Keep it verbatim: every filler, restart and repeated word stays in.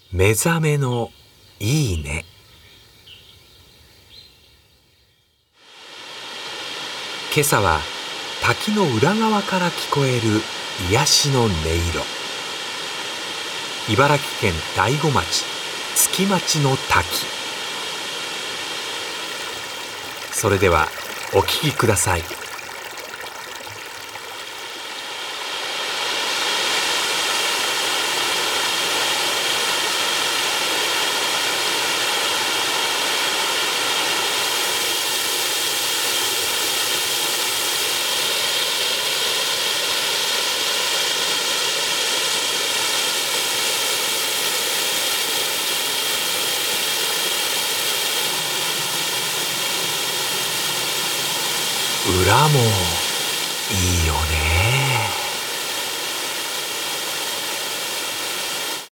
目覚めのいいね。今朝は滝の裏側から聞こえる癒しの音色。茨城県大子町月町の滝。それではお聞きください。裏もいいよね。